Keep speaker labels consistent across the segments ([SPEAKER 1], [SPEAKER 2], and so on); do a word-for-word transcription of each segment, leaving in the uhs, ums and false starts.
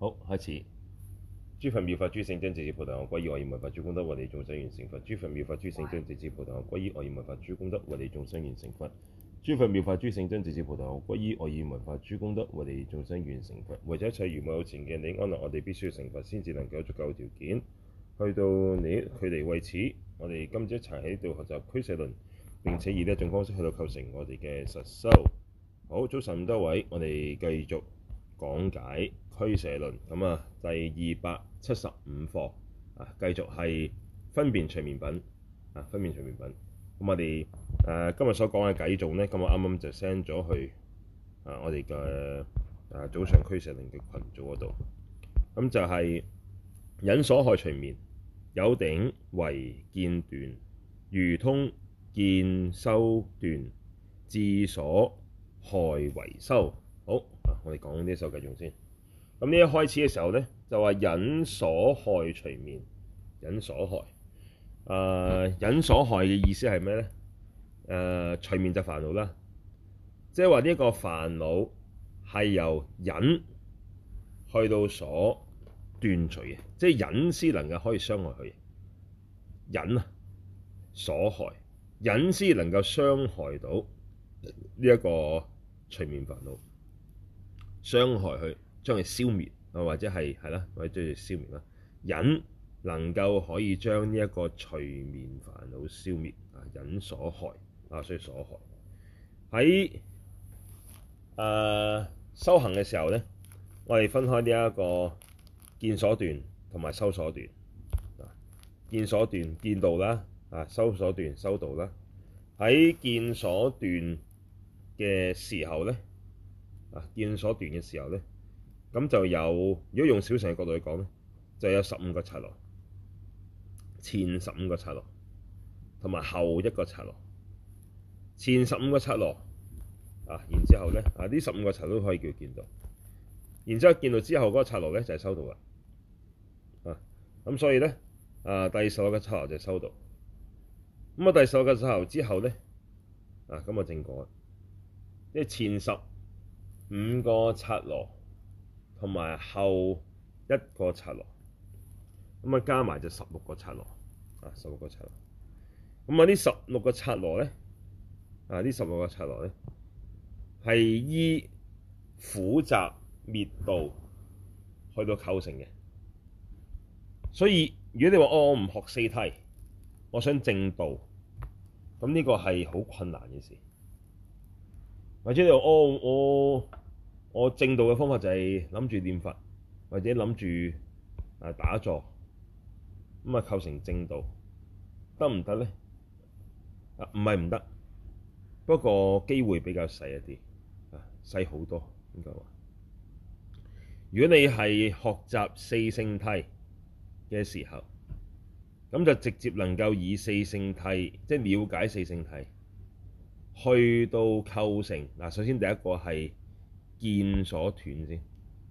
[SPEAKER 1] 好，開始。諸佛妙法諸聖真，直至菩提我歸依，我以聞法諸功德，為利眾生完成佛。諸佛妙法諸聖真，直至菩提我歸依，我以聞法諸功德，為利眾生完成佛。諸佛妙法諸聖真，直至菩提我歸依，我以聞法諸功德，為利眾生完成佛。為咗一切如母有情嘅你安樂，我哋必須要成佛，先至能夠有足夠條件去到你距離。為此，我哋今朝一齊喺度學習俱舍論，並且以呢一種方式去到構成我哋嘅實修。好，早晨咁多位，我哋繼續講解俱舍論。咁啊，第二百七十五課啊，繼續係分別隨眠品啊，分別隨眠品。咁我哋誒、啊、今日所講嘅偈頌咧，咁我啱啱就 send 咗去啊我哋嘅啊早上俱舍論嘅群組嗰度。咁就係忍所害隨眠，有頂唯見斷，如通見修斷，智所害唯修。好啊，我哋講呢首偈頌先。咁呢一開始嘅時候咧，就話忍所害隨眠，忍所害。誒、呃，忍所害嘅意思係咩咧？誒、呃，隨眠就煩惱啦，即係話呢一個煩惱係由忍去到所斷除嘅，即係忍先能夠可以傷害佢。忍啊，所害，忍先能夠傷害到呢一個隨眠煩惱，傷害佢，將佢消滅啊，或者係係啦，或者將佢消滅啦。忍能夠可以將呢一個隨眠煩惱消滅啊，忍所害啊，所以所害喺誒、呃、修行嘅時候咧，我哋分開呢一個見所斷同埋修所斷啊。見所斷見道啦，啊修所斷修道啦。喺見所斷嘅時候咧，啊見所斷嘅時候咧，咁就有，如果用小乘嘅角度去講咧，就有十五個剎那，前十五個剎那同埋後一個剎那。前十五個剎那啊，然之後咧啊，呢十五個剎那都可以叫見道。然之後見道之後嗰個剎那咧就係修道啦。啊，咁所以咧啊，第十六個剎那就係修道。咁啊，第十六個剎那之後咧啊，咁啊正果。即係前十五個剎那同埋後一個剎那，咁啊加埋就十六個剎那啊，十六個剎那。咁啊，呢十六個剎那咧啊，呢十六個剎那咧係依苦集滅道去到構成嘅。所以如果你話哦，我唔學四諦，我想證道，咁呢個係好困難嘅事。或者你話哦，我我證道嘅方法就係諗住念佛，或者諗住啊打坐，咁啊構成證道，得唔得咧？啊，唔係唔得，不過機會比較細一啲，啊細好多應該話。如果你係學習四聖諦嘅時候，咁就直接能夠以四聖諦，即係了解四聖諦，去到構成嗱。首先第一個係見所斷先，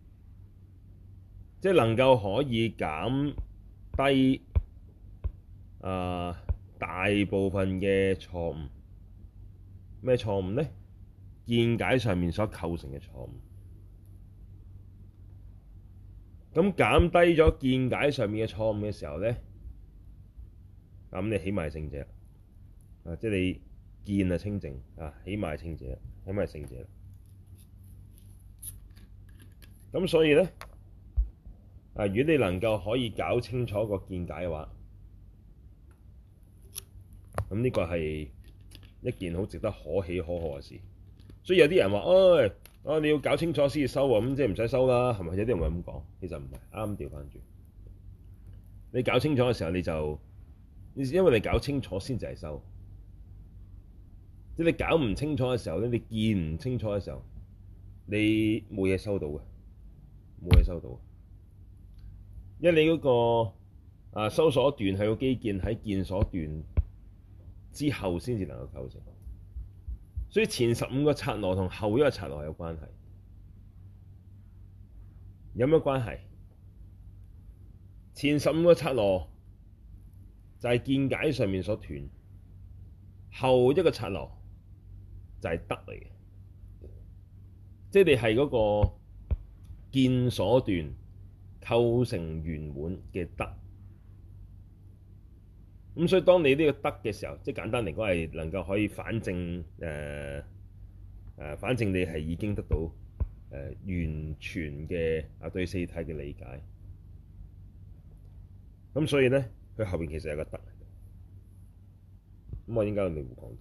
[SPEAKER 1] 即係能夠可以減低啊、呃、大部分嘅錯誤。咩錯誤咧？見解上面所構成嘅錯誤。咁減低咗見解上面嘅錯誤嘅時候咧，咁你起碼係聖者啊，即係你見啊清淨啊，起碼係聖者，起碼係聖者。咁所以咧啊，如果你能夠可以搞清楚個見解嘅話，咁呢個係一件好值得可喜可賀嘅事。所以有啲人話，唉、哎，啊你要搞清楚先至修喎，咁即係唔使修啦，係咪？有啲人會咁講，其實唔係，啱調翻轉。你搞清楚嘅時候，你就因為你搞清楚先至係修。即係你搞唔清楚嘅時候咧，你見唔清楚嘅時候，你冇嘢收到嘅，冇嘢收到。因為你嗰、那個啊修所斷係個基建喺見所斷之後先至能夠構成，所以前十五個剎那同後一個剎那有關係。有咩關係？前十五個剎那就係見解上面所斷，後一個剎那就係得嚟嘅，即係你係嗰個見所斷構成圓滿嘅得。咁所以當你呢個得嘅時候，即係簡單嚟講係能夠可以反證誒誒、呃，反正你係已經得到誒、呃、完全嘅啊對四體嘅理解。咁所以咧，佢後邊其實有個得。咁我應該你會講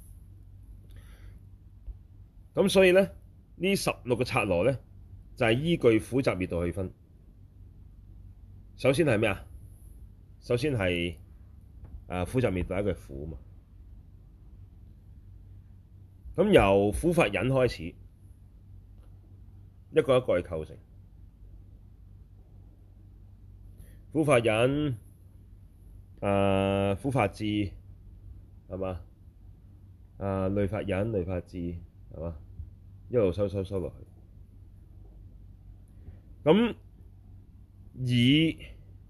[SPEAKER 1] 到。咁所以咧，呢十六個剎那咧，就係、是、依據苦集滅道去分。首先係咩啊？首先係啊苦集滅道，第一句苦嘛。咁由苦法忍開始，一個一個去構成。苦法忍，啊苦法智，係嘛？啊類法忍、類法智，係嘛？一路收收收落去。咁以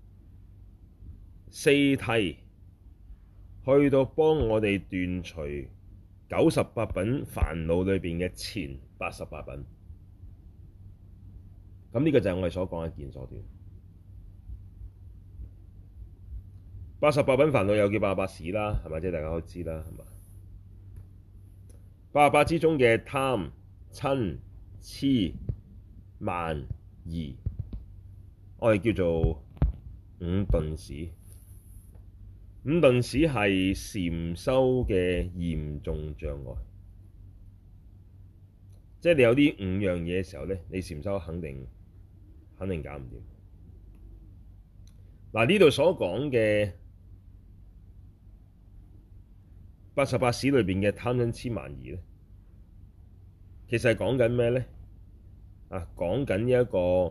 [SPEAKER 1] 四諦去到幫我哋斷除九十八品煩惱裏邊嘅前八十八品。咁呢個就係我哋所講嘅見所斷。八十八品煩惱又叫八十八使啦，係咪？即係大家都知啦，係嘛？八十八之中嘅貪、瞋、痴、慢、疑，我哋叫做五鈍使。五鈍使係禪修嘅嚴重障礙，即係你有呢五樣嘢嘅時候咧，你禪修肯定肯定搞唔掂。嗱，呢度所講嘅八十八使裏邊嘅貪瞋痴慢疑咧，其實係講緊咩咧？啊，講緊一個誒、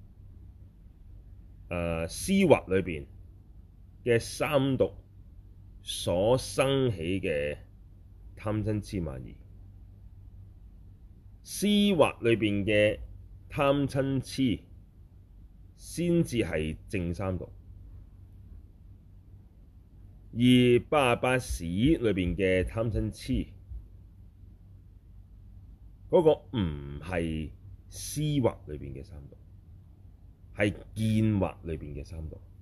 [SPEAKER 1] 呃、思惑裏邊嘅三毒所生起嘅貪瞋痴慢疑。思惑裏邊嘅貪瞋痴先至係正三毒。而八十八使裏邊嘅貪瞋痴嗰個唔係思惑裏邊嘅三毒，係見惑裏邊嘅三毒。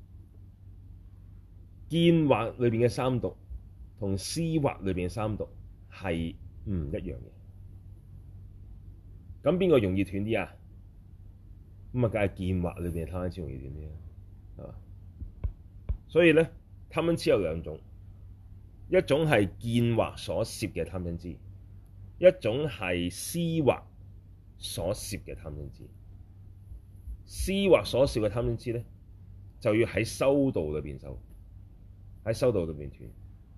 [SPEAKER 1] 見惑裏邊嘅三毒同思惑裏邊嘅三毒係唔一樣嘅。咁邊個容易斷啲啊？咁啊，梗係見惑裏邊嘅貪瞋痴容易斷啲啦，係嘛？所以咧，貪瞋痴有兩種，一種係見惑所攝嘅貪瞋痴，一種係思惑所攝嘅貪瞋痴。思惑所攝嘅貪瞋痴咧，就要喺修道裏邊修，喺修道裏邊斷。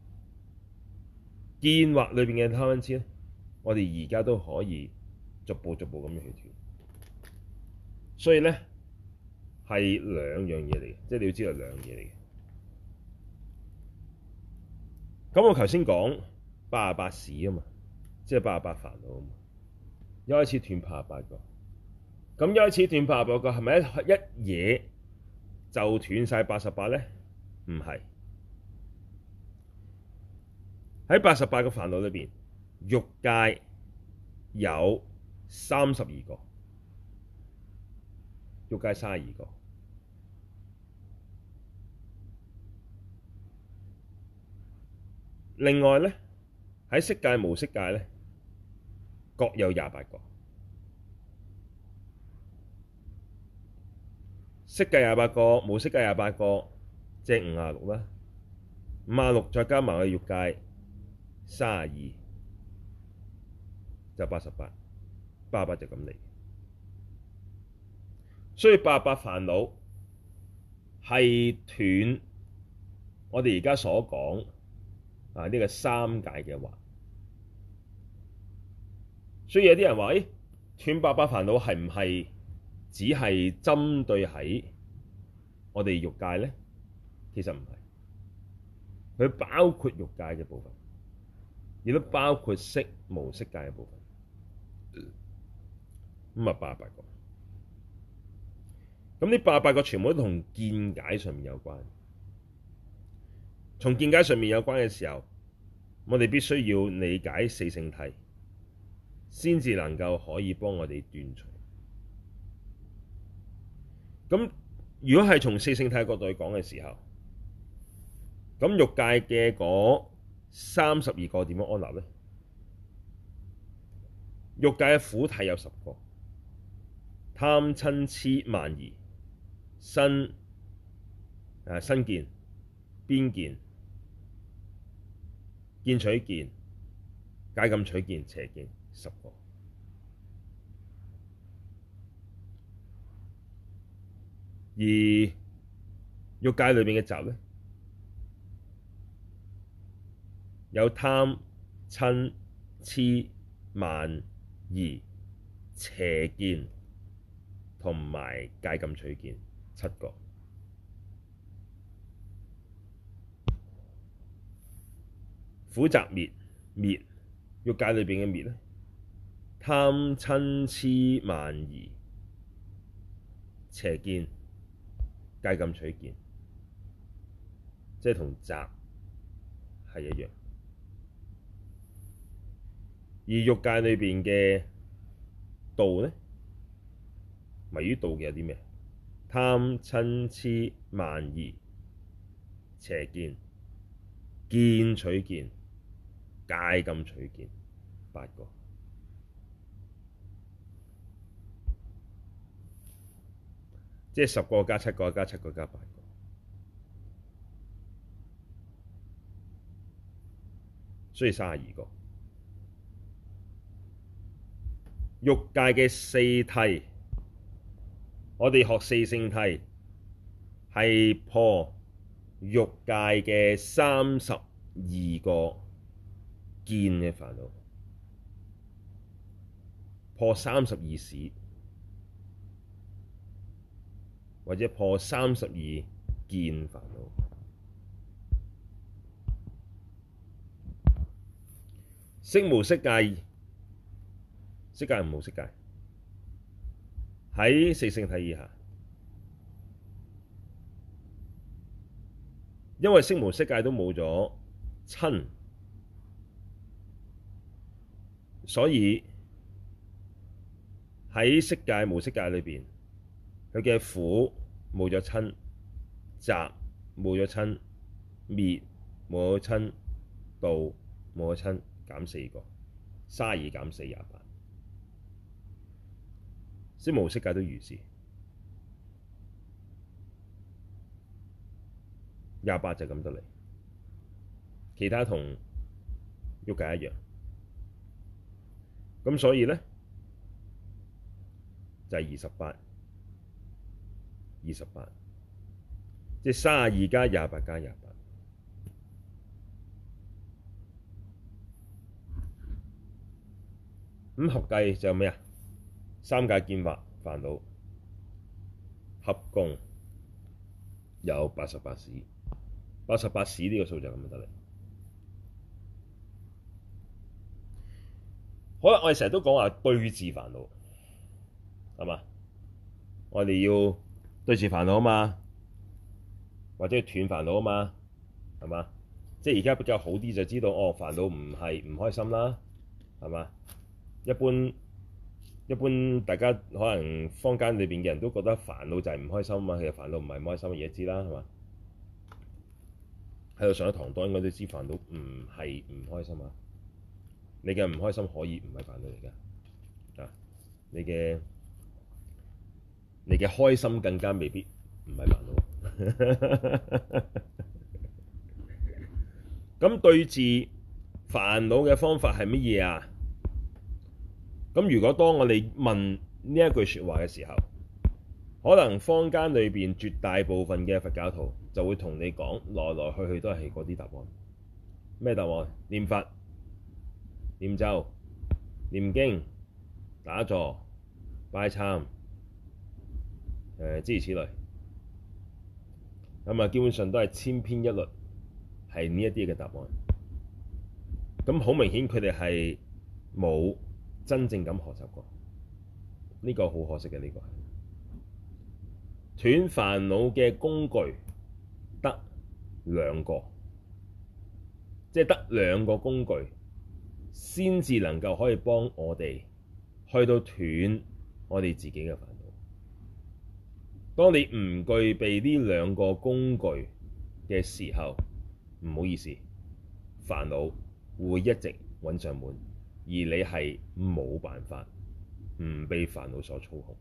[SPEAKER 1] 見惑裏邊嘅貪瞋痴咧，我哋而家都可以逐步逐步咁樣去斷。所以咧，係兩樣嘢嚟嘅，即係你要知道兩樣嘢嚟嘅。咁我頭先講八十八使啊嘛，即係八十八煩惱啊嘛，一開始斷八十八個，咁一開始斷八十八個係咪一一嘢就斷晒八十八咧？唔係，喺八十八個煩惱裏邊，欲界有三十二個，欲界三十二個。另外咧，喺色界無色界咧，各有廿八個。色界廿八個，無色界廿八個，即係五十六啦。五十六再加埋個欲界三十二，就八十八。八十八就咁嚟。所以八十八煩惱係斷我哋而家所講啊呢個三界嘅惑。所以有啲人話：誒，斷八十八煩惱係唔係只係針對喺我哋欲界咧？其實唔係，佢包括欲界嘅部分，亦都包括色無色界嘅部分。咁啊，八十八個。咁呢八十八個全部都同見解上面有關。從見解上面有關嘅時候，我哋必須要理解四聖諦，先至能夠可以幫我哋斷除。 咁如果係從四聖諦角度去講嘅時候，咁欲界嘅嗰三十二個點樣安立呢？欲界嘅苦體有十個：貪瞋痴慢疑、身誒身見、邊見、見取見、戒禁取見、邪見，十個。而欲界裏邊嘅集呢，有貪瞋痴慢疑、邪見同埋戒禁取見，七個。苦集滅滅，欲界裏邊嘅滅呢，貪瞋痴慢疑、邪見、戒禁取見，即係同集係一樣。而欲界裏邊嘅道呢，迷於道嘅有啲咩？貪瞋痴慢疑、邪見、見取見、戒禁取見，八個。即係十個加七個加七個加八個，所以三十二個。欲界嘅四諦，我哋學四聖諦係破欲界嘅三十二個見嘅煩惱，破三十二使，或者破三十二見煩惱。色無色界，色界唔冇色界，喺四聖諦以下，因為色無色界都冇咗瞋，所以喺色界無色界裏邊，佢嘅苦冇咗瞋，集冇咗瞋，滅冇咗瞋，道冇咗瞋，減四個，三十二減四廿八。色無色界都如是，廿八就咁得嚟，其他同欲界一樣。咁所以呢，就係二十八，二十八，即係三十二加廿八加廿八。咁合計就有咩啊？三界見惑煩惱合共有八十八使，八十八使呢個數就咁得嚟。好啦，我哋成日都講話對治煩惱，係嘛？我哋要對治煩惱啊嘛，或者斷煩惱啊嘛，係嘛？即係而家比較好啲就知道，哦，煩惱唔係唔開心啦，係嘛？一般。一般大家可能坊間裏邊嘅人都覺得煩惱就係唔開心啊嘛，其實煩惱唔係唔開心嘅嘢，知啦，係嘛？喺度上一堂當應該都知煩惱唔係唔開心啊！你嘅唔開心可以唔係煩惱嚟㗎，啊！你嘅你嘅開心更加未必唔係煩惱。咁對治煩惱嘅方法係乜嘢啊？咁如果當我哋問呢一句説話嘅時候，可能坊間裏邊絕大部分嘅佛教徒就會同你講，來來去去都係嗰啲答案。咩答案？念佛、念咒、念經、打坐、拜懺，誒諸如此類。咁啊，基本上都係千篇一律，係呢一啲嘅答案。咁好明顯，佢哋係冇真正咁學習過，呢、這個好可惜嘅。呢、這個斷煩惱嘅工具得兩個，即係得兩個工具先至能夠可以幫我哋去到斷我哋自己嘅煩惱。 當你唔具備呢兩個工具嘅時候，唔好意思，煩惱會一直揾上門，而你係冇辦法唔被煩惱所操控。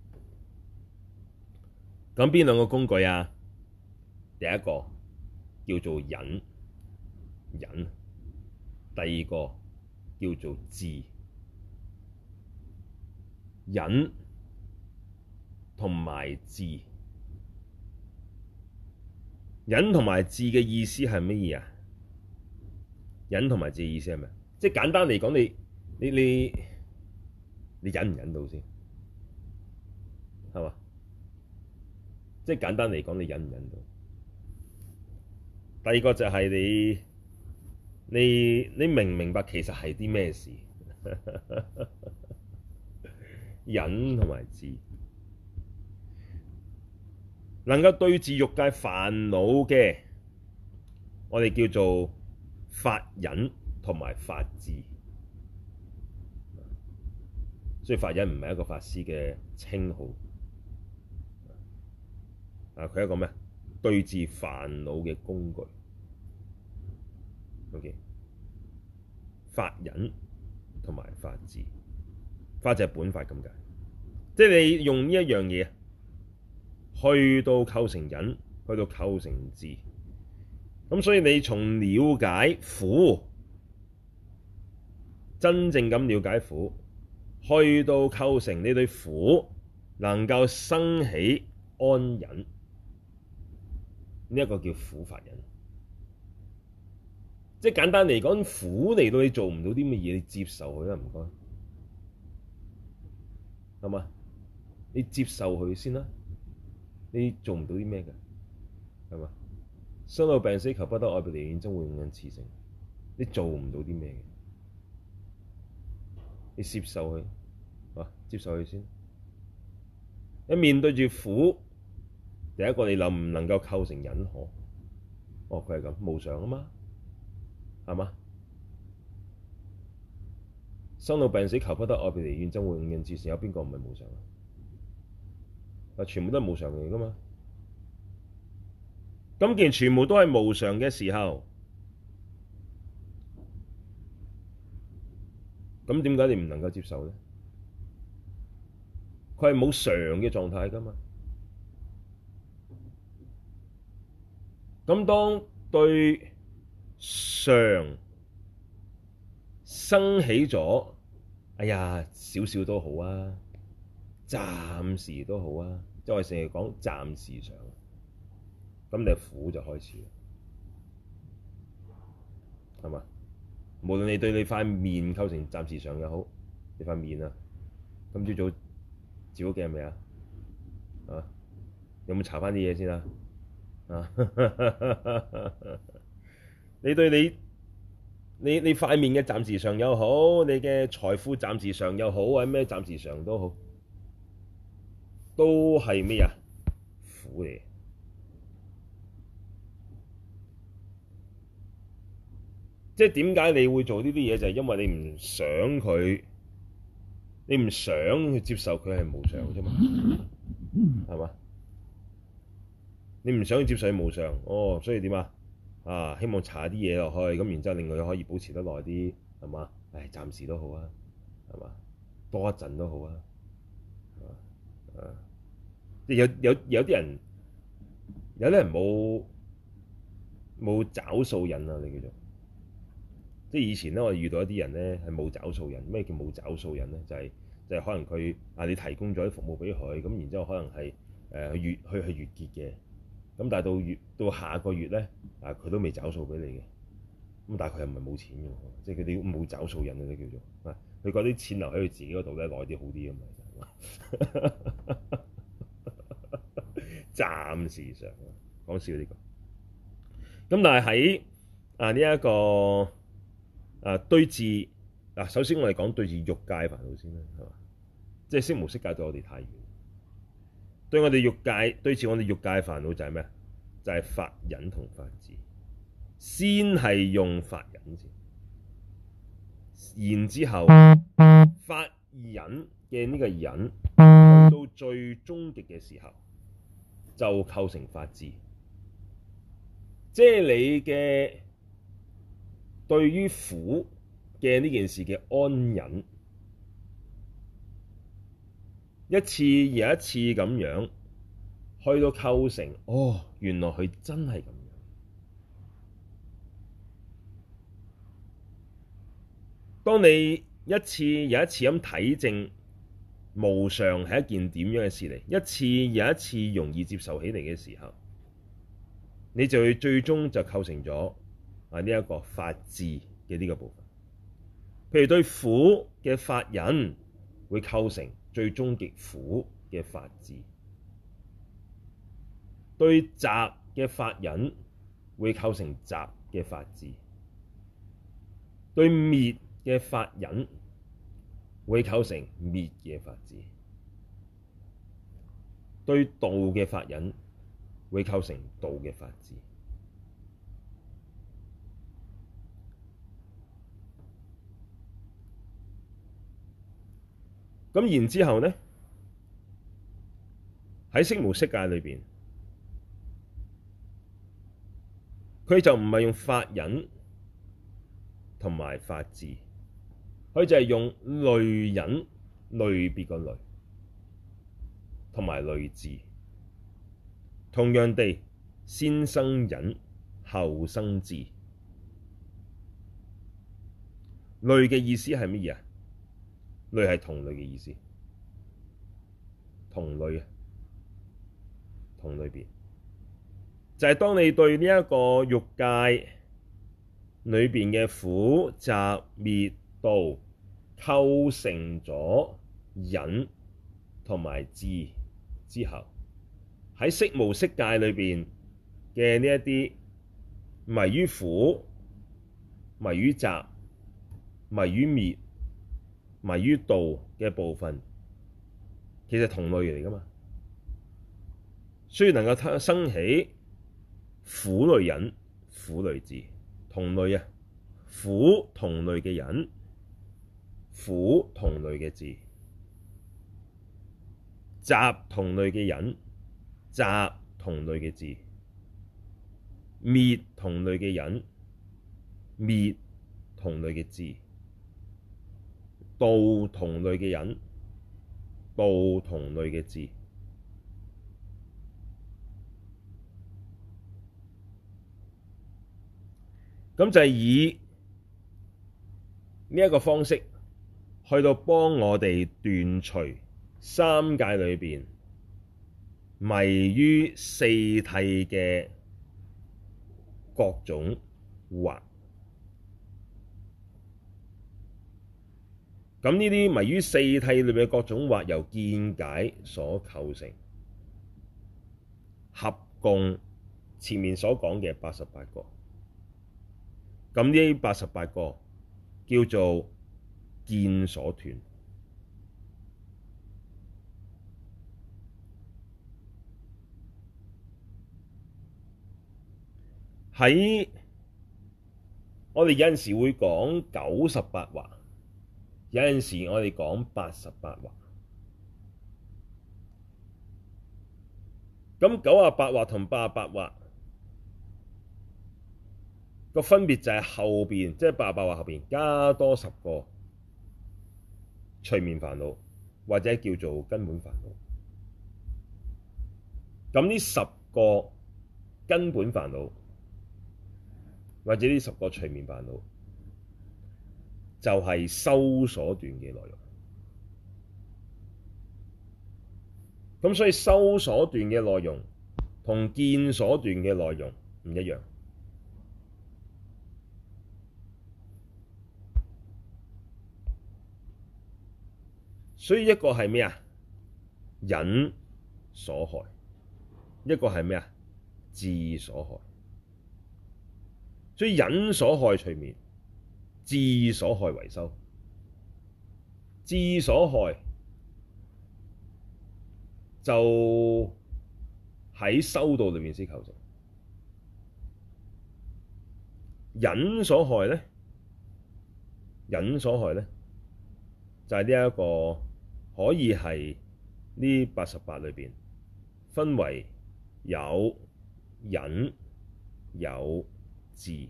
[SPEAKER 1] 咁邊兩個工具啊？第一個叫做忍，忍；第二個叫做智。忍同埋智，忍同埋智嘅意思係乜嘢啊？忍同埋智嘅意思係咩？即係簡單嚟講，你你你你忍唔忍到先？係嘛？即係簡單嚟講，你忍唔忍到？第二個就係你你你明唔明白其實係啲咩事？忍同埋智，能夠對治欲界煩惱嘅，我哋叫做法忍同埋法智。所以法忍唔係一個法師嘅稱號，啊，佢係一個咩？對治煩惱嘅工具。OK，法忍同埋法智，法就係本法咁解，即係你用呢一樣嘢去到構成忍，去到構成智。咁所以你從了解苦，真正咁了解苦，去到構成你對苦能夠生起安忍，呢一個叫苦法忍。即係簡單嚟講，苦嚟到你做唔到啲乜嘢，你接受佢啦，唔該，係嘛？你接受佢先啦，你做唔到啲咩嘅，係嘛？生老病死求不得，愛別離怨憎會，五陰熾盛，你做唔到啲咩嘅，你接受佢，啊，接受佢先。你面對住苦，第一個你能唔能夠構成忍可？哦，佢係咁無常啊嘛，係嘛？生老病死求不得，愛別離怨憎會，五陰熾盛，有邊個唔係無常啊？啊，全部都係無常嚟噶嘛。咁既然全部都係無常嘅時候，咁點解你唔能夠接受咧？佢係冇常嘅狀態噶嘛。咁當對常生起咗，哎呀，少少都好啊，暫時都好啊，即係我哋成日講暫時常。咁你苦就開始啦，係嘛？無論你對你塊面構成暫時常又好，你塊面啊，今朝早照咗鏡未啊？啊，有冇搽翻啲嘢先啊？啊，你對你你你塊面嘅暫時常又好，你嘅財富暫時常又好，或者咩暫時常都好，都係咩啊？苦嚟。即係點解你會做呢啲嘢？就係因為你唔想佢，你唔想去接受佢係無常啫嘛，係嘛？你唔想去接受佢無常，哦，所以點啊？啊，希望搽啲嘢落去，咁然之後令佢可以保持得耐啲，係嘛？唉，暫時都好啊，係嘛？多一陣都好啊，啊，即係有有有啲人，有啲人冇冇找數癮啊，你叫做。即係以前咧，我遇到一啲人咧係冇找數人。咩叫冇找數人咧？就係、是、就係、是、可能佢啊，你提供咗啲服務俾佢，咁然之後可能係誒月去係月結嘅，咁但係到月到下個月咧啊，佢都未找數俾你嘅。咁但係佢又唔係冇錢嘅，即係佢哋冇找數人咧叫做啊。佢嗰啲錢留喺佢自己嗰度咧，耐啲好啲啊嘛。暫時上講笑呢、這個。咁但係喺啊呢一、這個。啊，對治嗱，首先我哋講對治欲界煩惱先啦，係嘛？即係色無色界對我哋太遠，對我哋欲界對治我哋欲界煩惱就係咩啊？就係、是、法忍同法智，先係用法忍先，然之後法忍嘅呢個忍去到最終極嘅時候， 就構成法智，即係你嘅對於苦嘅呢件事嘅安忍，一次又一次咁樣去到構成，哦，原來佢真係咁樣。當你一次又一次咁體證無常係一件點樣嘅事嚟，一次又一次容易接受起嚟嘅時候，你就會最終就構成咗啊呢一個法智嘅呢個部分。譬如對苦嘅法忍會構成最終極苦嘅法智，對集嘅法忍會構成集嘅法智，對滅嘅法忍會構成滅嘅法智，對道嘅法忍會構成道嘅法智。咁然之後呢，喺色無色界裏邊，佢就唔係用法忍同埋法智，佢就係用類忍、類別個類同埋類智。同樣地，先生忍，後生智。類嘅意思係乜嘢啊？類係同類嘅意思，同類啊，同類別，就係、是、當你對呢一個欲界裏邊嘅苦集滅道構成咗忍同埋智之後，喺色無色界裏邊嘅呢一啲迷於苦、迷於集、迷於滅、迷於道嘅部分，其實同類嚟㗎嘛，所以能夠生起苦類忍、苦類智，同類啊，苦同類嘅忍，苦同類嘅智，集同類嘅忍，集同類嘅智，滅同類嘅忍，滅同類嘅智，道同類嘅忍，道同類嘅智。咁就係以呢一個方式去到幫我哋斷除三界裏邊迷於四諦嘅各種惑。咁呢啲迷於四諦裏邊嘅各種惑，由見解所構成，合共前面所講嘅八十八個。咁呢八十八個叫做見所斷。喺我哋有陣時會講九十八惑，有陣時我哋講八十八惑。咁九十八惑同八十八惑個分別就係後邊，即係八十八惑後邊加多十個隨眠煩惱，或者叫做根本煩惱。咁呢十個根本煩惱，或者呢十個隨眠煩惱，就係修所斷嘅內容。咁所以修所斷嘅內容同見所斷嘅內容唔一樣。所以一個係咩啊？忍所害，一個係咩啊？智所害。所以忍所害隨眠，智所害為修。智所害就喺修道裏面先構成。忍所害咧，忍所害咧就係呢一個可以係呢八十八裏邊分為有忍，有智，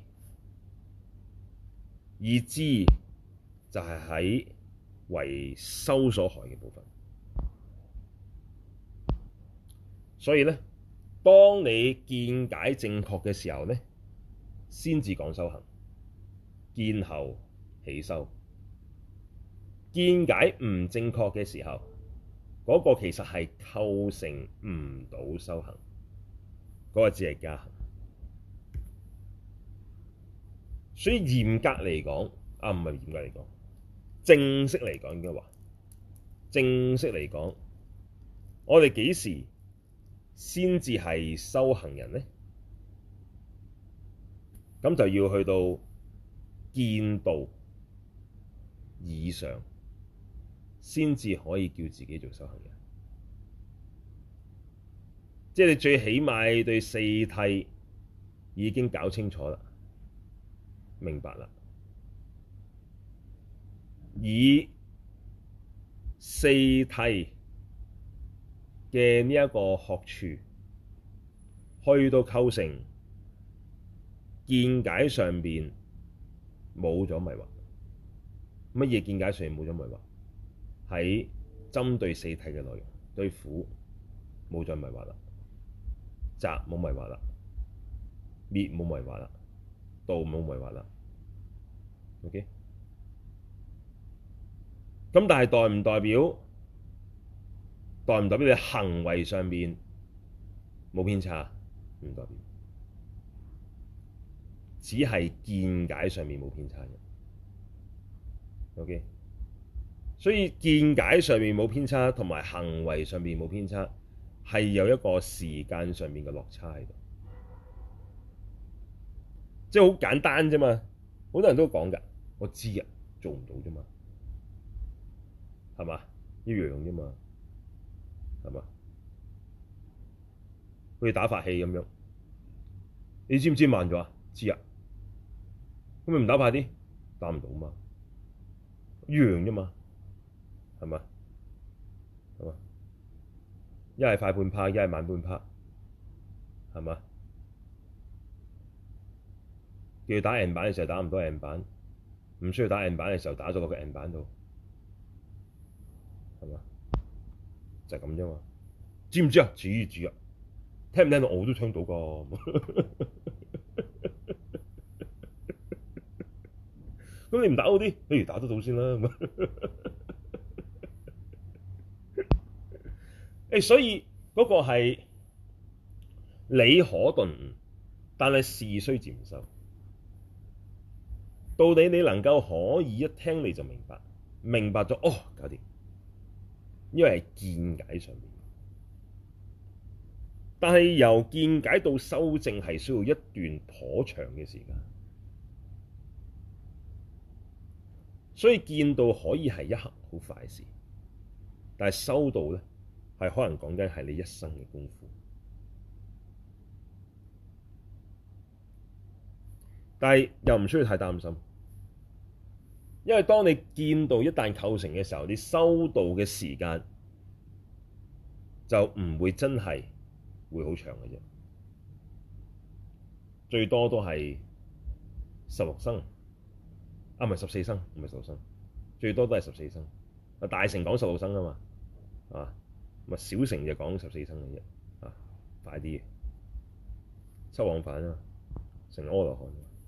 [SPEAKER 1] 而智就係喺為修所害嘅部分。所以咧，當你見解正確嘅時候咧，先至講修行，見後起修。見解唔正確嘅時候，嗰、那個其實係構成唔到修行，嗰、那個只係加行。所以嚴格嚟講，啊唔係嚴格嚟講，正式嚟講應該話，正式嚟講，我哋幾時先至係修行人呢？咁就要去到見道以上，先至可以叫自己做修行人。即係你最起碼對四諦已經搞清楚啦，明白啦，以四諦嘅呢一個學處去到構成見解上邊冇咗迷惑。乜嘢見解上邊冇咗迷惑？喺針對四諦嘅內容，對苦冇再迷惑啦，集冇迷惑啦，滅冇迷惑啦，道冇迷惑啦。OK，咁但係代唔代表代唔代表你行為上面冇偏差？唔代表，只係見解上面冇偏差嘅。OK，所以見解上面冇偏差，同埋行為上面冇偏差，係有一個時間上面嘅落差喺度。即係好簡單啫嘛，好多人都講㗎，我知啊，做唔到啫嘛，係嘛？一樣啫嘛，係嘛？好似打發氣咁樣，你知唔知慢咗啊？知啊，咁咪唔打快啲？打唔到嘛，一樣啫嘛，係嘛？係嘛？一係快半拍，一係慢半拍，係嘛？叫佢打 N 板嘅時候打唔到 N 板，唔需要打 N 板嘅時候打咗落個 N 板度，係嘛？就係咁啫嘛。知唔知啊？知知啊。聽唔聽到？我都聽到噶。咁你唔打好啲，不如打得到先啦。誒，所以嗰個係理可頓悟，但係事須漸修。到底你能夠可以一聽你就明白，明白咗哦，搞掂。因為係見解上面，但係由見解到修正係需要一段頗長嘅時間，所以見道可以係一刻好快事，但係修道咧係可能講緊係你一生嘅功夫。但係又唔需要太擔心，因為當你見道一旦構成嘅時候，你修道嘅時間就唔會真係會好長嘅啫，最多都係十六生，啊唔係十四生，唔係十六生，最多都係十四生。啊大乘講十六生啊嘛，啊咪小乘就講十四生嘅啫，啊快啲嘅，七往返啊嘛，成阿羅漢。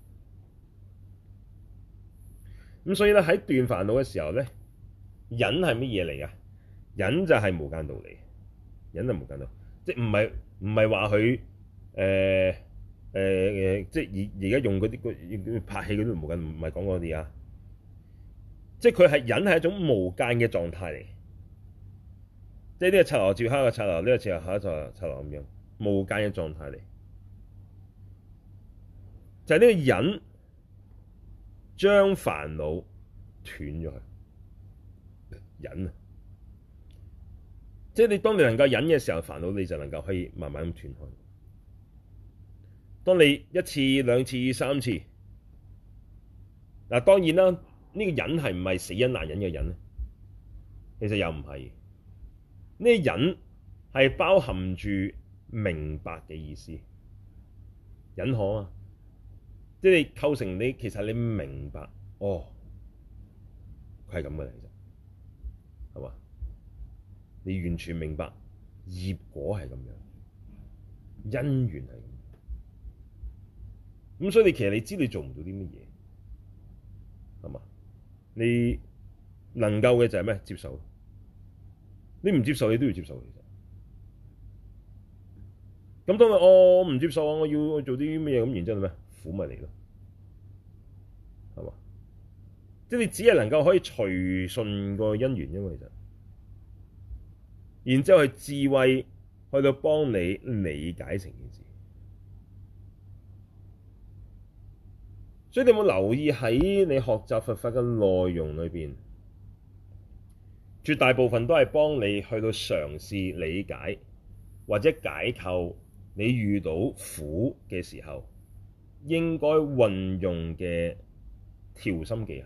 [SPEAKER 1] 咁所以咧喺斷煩惱嘅時候咧，忍係乜嘢嚟㗎？忍就係無間道嚟，忍係無間道，即係唔係唔係話佢誒誒誒，即係而而家用嗰啲拍戲嗰啲無間，唔係講嗰啲啊，即係佢係忍係一種無間嘅狀態嚟，即係呢個剎那照下一個剎那，呢個剎那下一個剎那咁樣無間嘅狀態嚟，就係呢個忍。將煩惱斷咗佢，忍啊！即係你當你能夠忍嘅時候，煩惱你就能夠可以慢慢咁斷開。當你一次、兩次、三次，嗱當然啦，呢、這個忍係唔係死忍難忍嘅忍咧？其實又唔係，呢、這個忍係包含住明白嘅意思，忍可啊，即係你構成你其實你明白，哦，佢係咁嘅嚟啫，係嘛？你完全明白業果係咁樣，因緣係咁樣，咁所以你其實你知你做唔到啲乜嘢，係嘛？你能夠嘅就係咩？接受。你唔接受，你都要接受。其實咁當你我唔接受啊，我要做啲咩嘢咁，然之後咩苦咪嚟咯，係嘛？即係你只係能夠可以隨順個因緣，因為其實，然之後係智慧去到幫你理解成件事。所以你有冇留意喺你學習佛法嘅內容裏邊，絕大部分都係幫你去到嘗試理解或者解構你遇到苦嘅時候應該運用嘅調心技巧。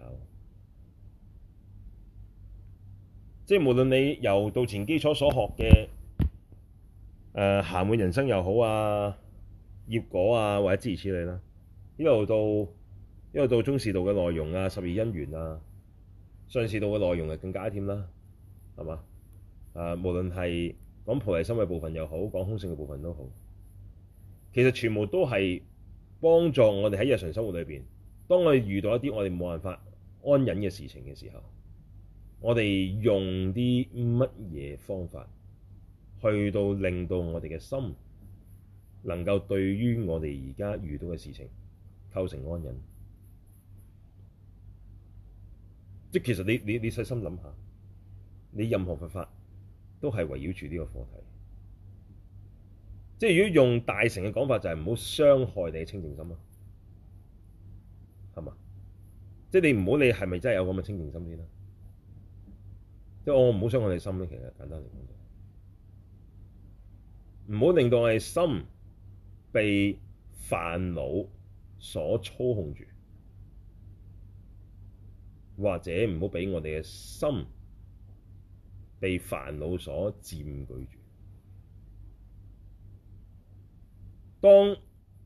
[SPEAKER 1] 即係無論你由道前基礎所學嘅誒暇滿人生又好啊、業果啊或者諸如此類啦，一路到一路到中士道嘅內容啊、十二因緣啊、上士道嘅內容係更加添啦，係嘛？啊，無論係講菩提心嘅部分又好，講空性嘅部分都好，其實全部都係幫助我哋喺日常生活裏邊，當我哋遇到一啲我哋冇辦法安忍嘅事情嘅時候，我哋用啲乜嘢方法去到令到我哋嘅心能夠對於我哋而家遇到嘅事情構成安忍。即係其實你你你細心諗下，你任何佛法都係圍繞住呢個課題。即係如果用大乘嘅講法，就係唔好傷害你嘅清淨心咯，係嘛？即係你唔好理係咪真係有咁嘅清淨心先啦。即係我唔好傷害你心咧，其實簡單嚟講，唔好令到我哋心被煩惱所操控住，或者唔好俾我哋嘅心被煩惱所佔據住。當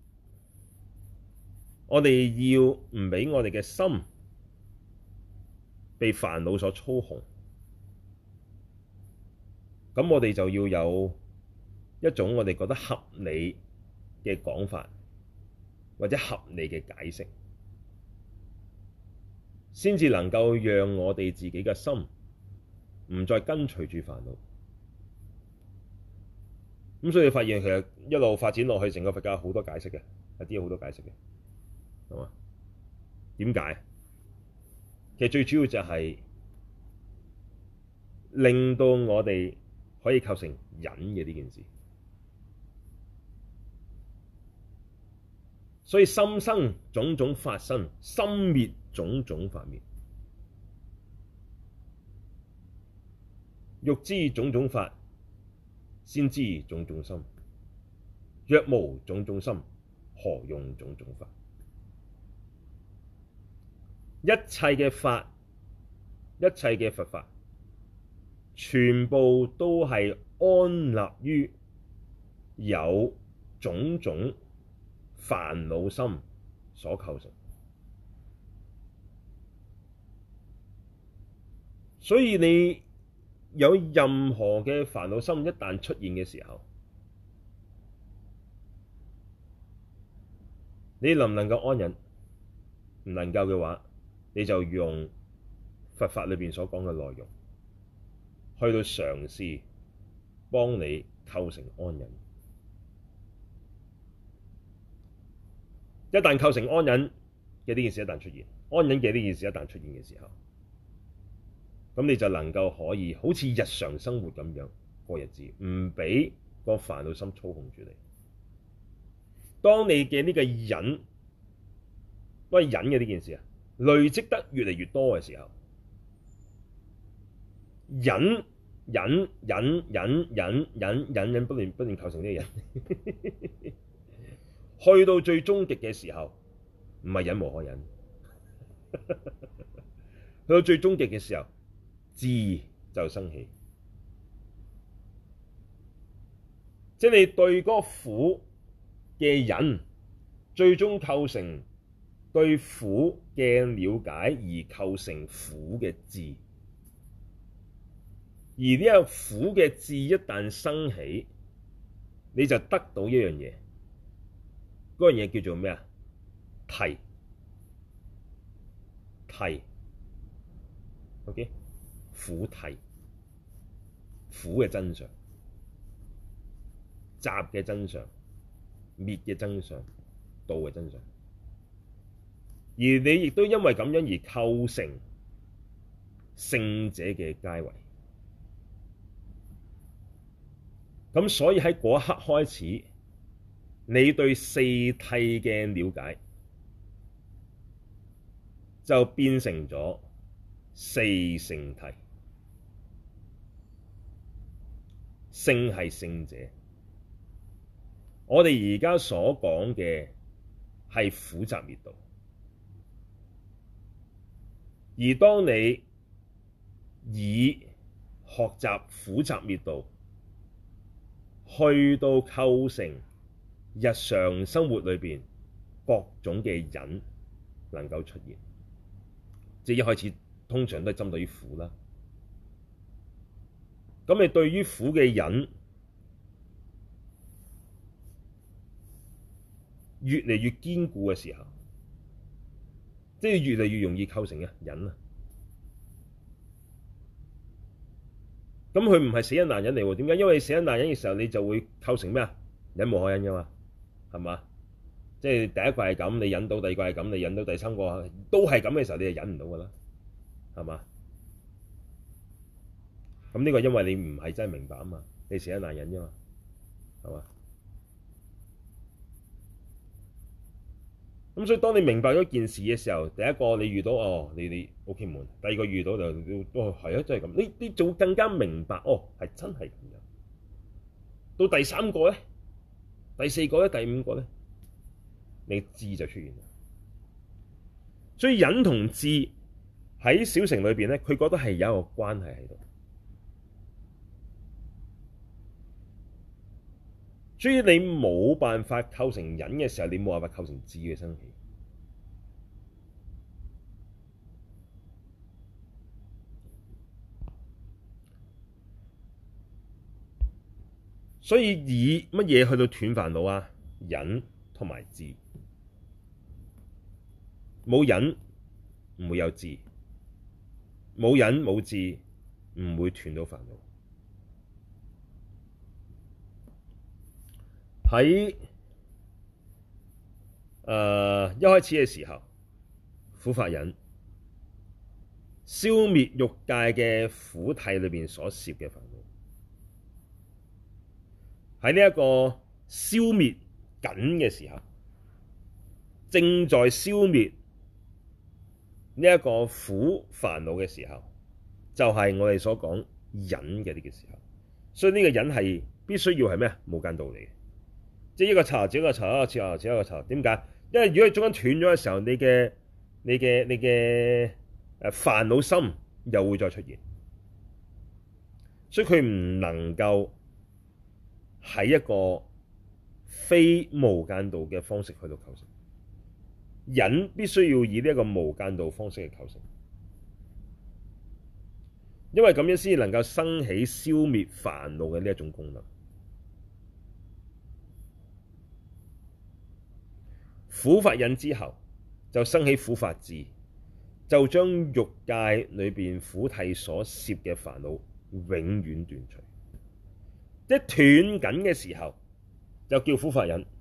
[SPEAKER 1] 我哋要唔俾我哋嘅心被煩惱所操控，咁我哋就要有一種我哋覺得合理嘅講法，或者合理嘅解釋，先至能夠讓我哋自己嘅心唔再跟隨住煩惱。咁所以你發現其實一路發展落去，成個佛教好多解釋嘅，有啲好多解釋嘅，係嘛？點解？其實最主要就係令到我哋可以構成忍嘅呢件事。所以心生種種法生，心滅種種法滅。欲知種種法，先知種種心。若無種種心，何用種種法？一切嘅法，一切嘅佛法，全部都係安立於有種種煩惱心所構成。所以你有任何嘅煩惱心一旦出現嘅時候，你能唔能夠安忍？唔能夠嘅話，你就用佛法裏邊所講嘅內容，去到嘗試幫你構成安忍。一旦構成安忍嘅呢件事一旦出現，安忍嘅呢件事一旦出現嘅時候，咁你就能夠可以好似日常生活咁樣過日子，唔俾個煩惱心操控住你。當你嘅呢個忍，喂忍嘅呢件事啊，累積得越嚟越多嘅時候，忍忍忍忍忍忍忍忍不斷不斷構成呢個忍，去到最終極嘅時候，唔係忍無可忍，去到最終極嘅時候，智就生起。 即係你對嗰個苦嘅忍，最終構成對苦嘅了解而構成苦嘅智。而呢個苦嘅智一旦生起，你就得到一樣嘢，嗰樣嘢叫做咩啊？諦。諦 ，OK， 苦諦，苦嘅真相，集嘅真相，滅嘅真相，道嘅真相。而你亦都因為咁樣而構成聖者嘅階位。咁所以喺嗰一刻開始，你對四諦嘅了解就變成咗四聖諦。聖係聖者，我哋而家所講嘅係苦集滅道。而當你以學習苦集滅道去到構成日常生活裏邊各種嘅忍能夠出現，即係一開始通常都係針對於苦啦。咁你對於苦嘅忍越嚟越堅固嘅時候，即係越嚟越容易構成嘅忍啊。咁佢唔係死忍難忍嚟喎？點解？因為死忍難忍嘅時候，你就會構成咩啊？忍無可忍噶嘛，係嘛？即係第一個係咁，你忍到；第二個係咁，你忍到；第三個都係咁嘅時候，你就忍唔到噶啦，係嘛？咁呢個因為你唔係真係明白啊嘛，你死忍難忍啫嘛，係嘛？咁所以當你明白咗件事嘅時候，第一個你遇到哦，你你 OK 悶；第二個遇到就哦係啊，真係咁。你你就會更加明白哦，係真係咁樣。到第三個咧，第四個咧，第五個咧，你智就出現啦。所以忍同智喺小乘裏邊咧，佢覺得係有一個關係喺度。所以你冇辦法構成忍嘅時候，你冇辦法構成智嘅生起。所以以乜嘢去到斷煩惱啊？忍同埋智。冇忍唔會有智，冇忍冇智唔會斷到煩惱。喺誒、呃、一開始嘅時候，苦法忍消滅欲界嘅苦諦裏邊所攝嘅煩惱，喺呢一個消滅緊嘅時候，正在消滅呢一個苦煩惱嘅時候，就係、是、我哋所講忍嘅呢個時候。所以呢個忍係必須要係咩啊？無間道嚟嘅。即係一個查，接一個查，一個查，接一個查。點解？因為如果你中間斷咗嘅時候，你嘅你嘅你嘅誒煩惱心又會再出現，所以佢唔能夠喺一個非無間道嘅方式去到構成。忍必須要以呢一個無間道方式去構成，因為咁樣先能夠生起消滅煩惱嘅呢一種功能。苦法忍之後，就生起苦法智，就將欲界裏邊苦諦所攝嘅煩惱永遠斷除。即係斷緊嘅時候，就叫苦法忍；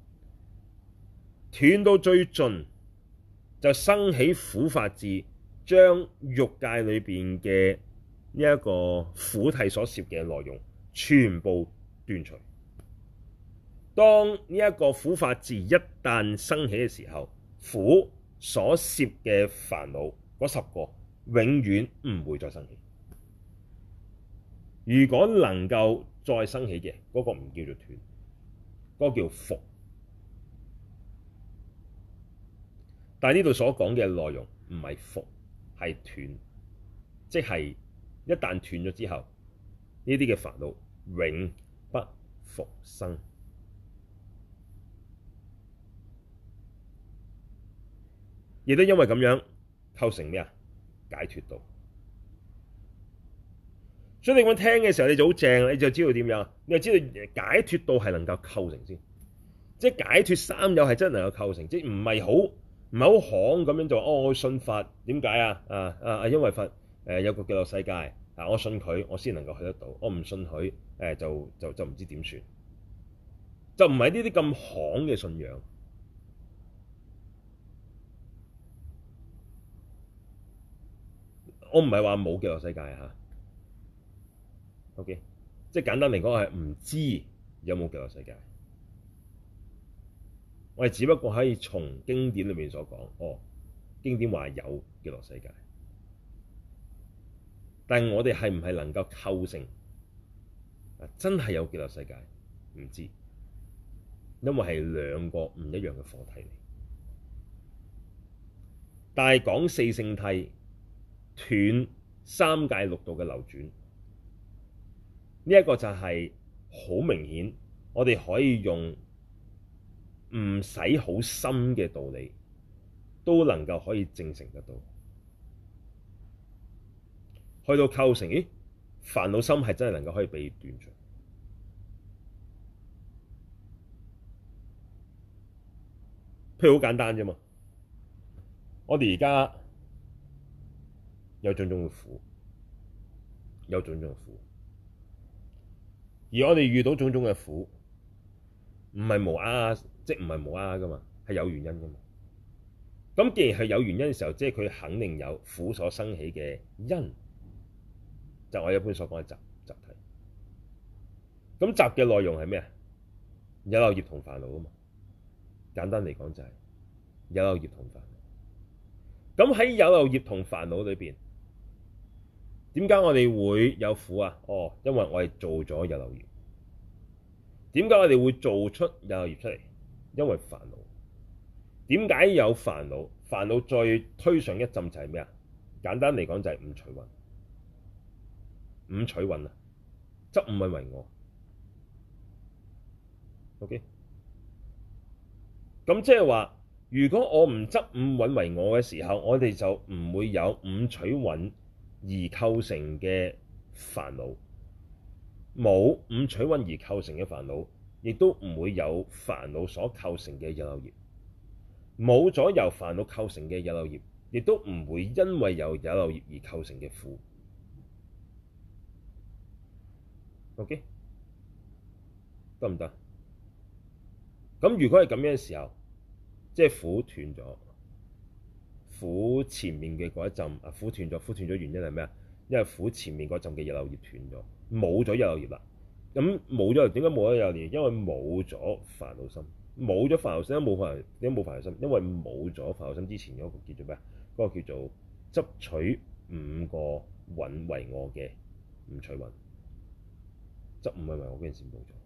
[SPEAKER 1] 斷到最盡，就生起苦法智，將欲界裏邊嘅呢一個苦諦所攝嘅內容全部斷除。當呢一個苦法智一旦生起嘅時候，苦所攝嘅煩惱嗰十個永遠唔會再生起。如果能夠再生起嘅，嗰、那個唔叫做斷，嗰、那個叫伏。但係呢度所講嘅內容唔係伏，係斷，即係一旦斷咗之後，呢啲嘅煩惱永不復生。亦都因為咁樣構成咩啊？解脫道。所以你咁聽嘅時候，你就好正，你就知道點樣，你就知道解脫道係能夠構成先，即係解脫三有係真係能夠構成，即係唔係好唔係好行咁樣就哦，我信佛點解啊？啊啊因為佛誒、呃、有個極樂世界啊，我信佢，我先能夠去得到，我唔信佢誒、呃、就就就唔知點算，就唔係呢啲咁行嘅信仰。我唔係話冇極樂世界嚇。OK，即係簡單嚟講係唔知有冇極樂世界。我哋只不過可以從經典裏面所講，哦，經典話有極樂世界，但係我哋係唔係能夠構成啊？真係有極樂世界唔知，因為係兩個唔一樣嘅課題嚟。但係講四聖諦斷三界六道嘅流轉。呢、這、一個就係好明顯，我哋可以用唔使好深嘅道理，都能夠可以證成得到。去到構成，咦？煩惱心係真係能夠可以被斷除。譬如好簡單啫嘛，我哋而家有種種嘅苦，有種種嘅苦。而我哋遇到種種嘅苦，唔係無啊，即唔係無啊噶嘛，係有原因噶嘛。咁既然係有原因嘅時候，即係佢肯定有苦所生起嘅因，就我一般所講嘅集集諦。咁集嘅內容係咩啊？有漏業同煩惱啊嘛。簡單嚟講就係有漏業同煩惱。咁喺有漏業同煩惱裏邊，點解我哋會有苦啊？哦，因為我哋做咗有漏業。點解我哋會做出有漏業出嚟？因為煩惱。點解有煩惱？煩惱再推上一浸就係咩啊？簡單嚟講就係五取蘊。五取蘊啊，執五蘊為我。OK。咁即係話，如果我唔執五蘊為我嘅時候，我哋就唔會有五取蘊而構成嘅煩惱。冇五取蘊而構成嘅煩惱，亦都唔會有煩惱所構成嘅有漏業。冇咗由煩惱構成嘅有漏業，亦都唔會因為有有漏業而構成嘅苦。OK，得唔得？咁如果係咁樣嘅時候，即係苦斷咗，苦前面嘅嗰一陣啊，苦斷咗，苦斷咗原因係咩啊？因為苦前面嗰陣嘅有漏業斷咗，冇咗有漏業啦。咁冇咗，點解冇咗有漏業？因為冇咗煩惱心，冇咗煩惱心，冇煩，點解冇煩惱心？因為冇咗煩惱心之前嗰個叫做咩啊？嗰、嗰個叫做執取五個蘊為我嘅五取蘊，執五蘊為我嗰陣時冇咗。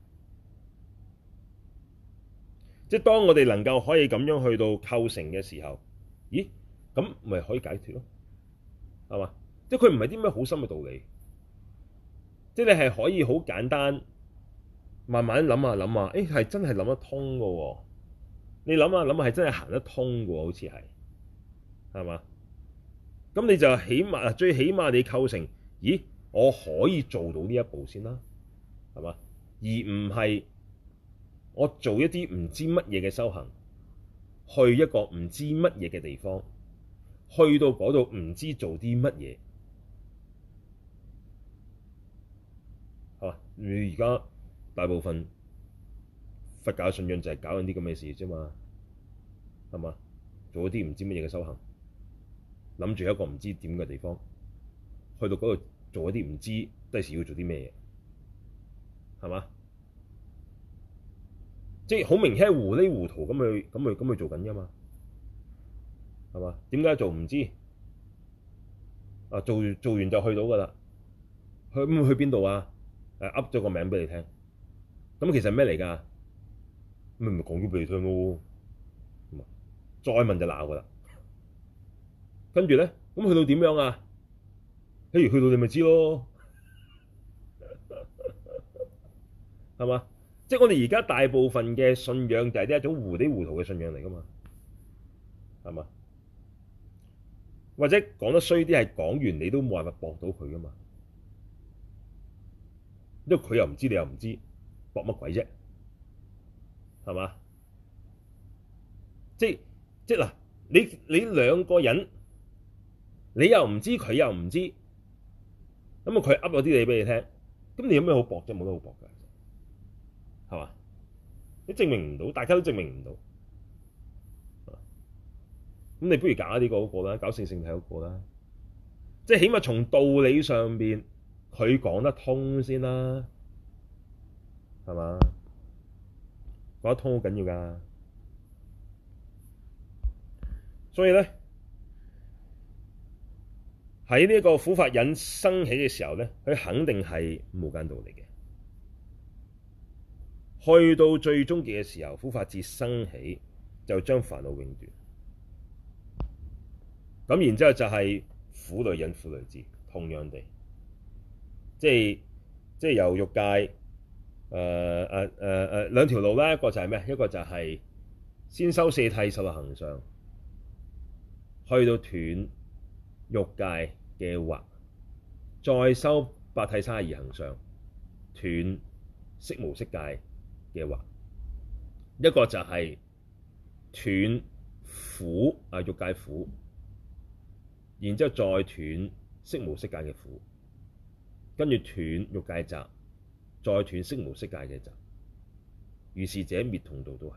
[SPEAKER 1] 即係當我哋能夠可以咁樣去到構成嘅時候，咦？咁咪可以解脫咯，係嘛？即係佢唔係啲咩好深嘅道理，即係你係可以好簡單，慢慢諗下諗下，誒係真係諗得通嘅喎。你諗下諗下係真係行得通嘅喎，好似係，係嘛？咁你就起碼最起碼你構成，咦？我可以做到呢一步先啦，係嘛？而唔係我做一啲唔知乜嘢嘅修行，去一個唔知乜嘢嘅地方，去到嗰度唔知做啲乜嘢，係嘛？你而家大部分佛教信仰就係搞緊啲咁嘅事啫嘛，係嘛？做一啲唔知乜嘢嘅修行，諗住一個唔知點嘅地方，去到嗰度做一啲唔知第時要做啲咩嘢，係嘛？即係好明顯係糊裡糊塗咁去咁去咁去做緊㗎嘛，係嘛？點解做唔知？啊，做做完就去到㗎啦，去咁去邊度啊？誒噏咗個名俾你聽，咁其實咩嚟㗎？咪咪講咗俾你聽咯，再問就鬧㗎啦。跟住咧，咁去到點樣啊？譬如去到你咪知咯。 係嘛？即係我哋而家大部分嘅信仰就係呢一種糊裡糊塗嘅信仰嚟㗎嘛，係嘛？或者講得衰啲係講完你都冇辦法駁到佢㗎嘛，因為佢又唔知你又唔知，駁乜鬼啫？係嘛？即係即係嗱，你你兩個人，你又唔知佢又唔知，咁啊佢噏咗啲嘢俾你聽，咁你有咩好駁啫？冇得好駁㗎，係嘛？你證明唔到，大家都證明唔到。咁你不如搞呢個嗰個啦，搞性性體嗰個啦，即係起碼從道理上邊佢講得通先啦，係嘛？講得通好緊要㗎，所以咧喺呢個苦法忍生起嘅時候咧，佢肯定係無間道嚟嘅。去到最終極嘅時候，苦法智生起就將煩惱永斷。咁然之後就係苦類忍、苦類智，同樣地，即係即係由欲界誒誒誒誒兩條路啦，一個就係咩？一個就係先修四諦十六行相，去到斷欲界嘅惑，再修八諦三十二行相，斷色無色界嘅惑。一個就係斷苦啊欲界苦。然之後再斷色無色界嘅苦，跟住斷欲界集，再斷色無色界嘅集，如是者滅同道都係。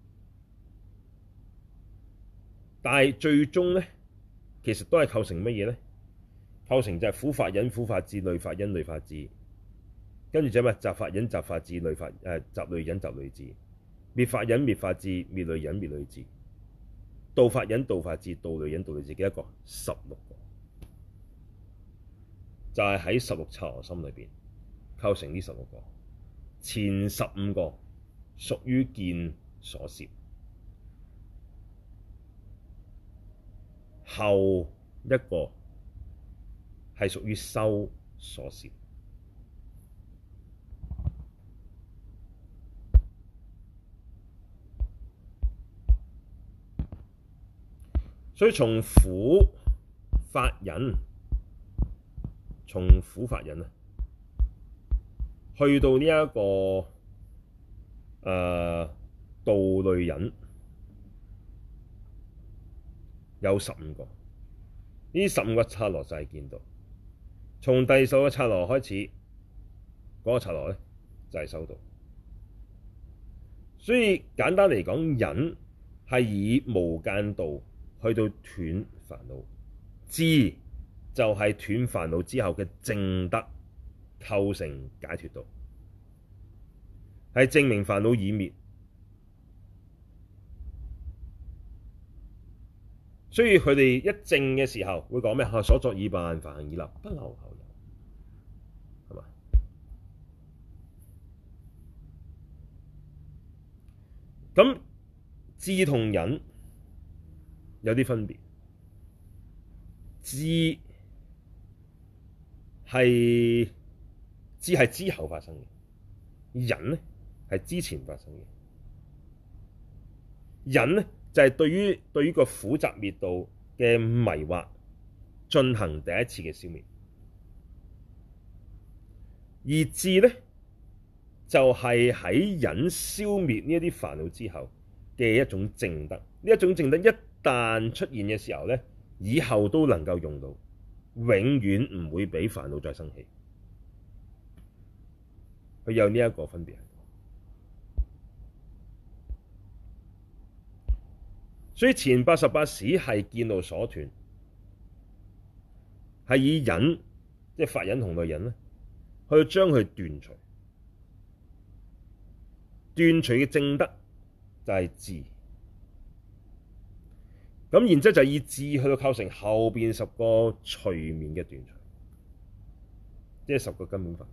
[SPEAKER 1] 但係最終咧，其實都係構成乜嘢咧？構成就係苦法忍、苦法智、類法忍、類法智，跟住就咩？集法忍、集法智、類法誒集類忍、集類智，滅法忍、滅法智、滅類忍、滅類智。道法忍、道法智、道類忍、道類智，幾多個？十六個，就係喺十六剎那心裏邊構成呢十六個。前十五個屬於見所攝，後一個係屬於修所攝。所以從苦法忍，從苦法忍啊，去到呢、這、一個誒、呃、道類忍，有十五個。呢十五個剎那就係見道。從第十個剎那開始，嗰、那個剎那咧就係修道。所以簡單嚟講，忍係以無間道去到斷煩惱，智就係斷煩惱之後嘅證得構成解脫道，係證明煩惱已滅。所以佢哋一證嘅時候會講咩？所作已辦，梵行已立，不留後有，係嘛？咁智同忍有啲分別，智係智係之後發生嘅，忍咧係之前發生嘅。忍咧就係、是、對於對於個苦集滅道嘅迷惑進行第一次嘅消滅，而智咧就係、是、喺忍消滅呢一啲煩惱之後嘅一種證得。呢一種證得一旦出現嘅時候咧，以後都能夠用到，永遠唔會俾煩惱再生起。佢有呢一個分別。所以前八十八使係見道所斷，係以忍，即係法忍同類忍咧，去將佢斷除。斷除嘅證得就係智。咁然之後就以智去到構成後邊十個隨眠嘅斷除，即係十個根本法，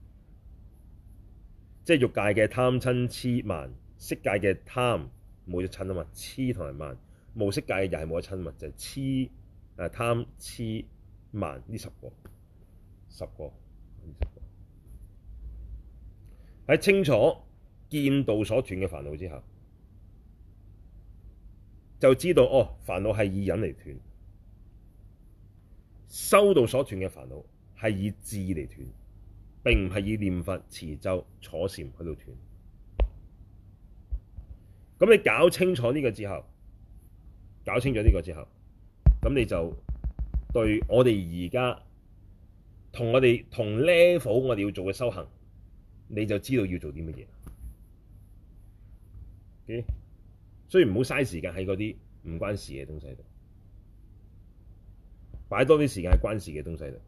[SPEAKER 1] 即係欲界嘅貪瞋痴慢，色界嘅貪冇咗瞋啊嘛，痴同埋慢，無色界嘅又係冇咗瞋嘛，就係痴誒貪痴慢呢十個，十個呢十個。 喺清楚見到所斷嘅煩惱之後，就知道哦，煩惱係以忍嚟斷，修到所斷嘅煩惱係以智嚟斷，並唔係以念佛持咒坐禪去到斷。咁你搞清楚呢個之後，搞清楚呢個之後，咁你就對我哋而家同我哋同 level 我哋要做嘅修行，你就知道要做啲乜嘢。Okay? 所以唔好嘥時間喺嗰啲唔關事嘅東西度，擺多啲時間喺關事嘅東西度。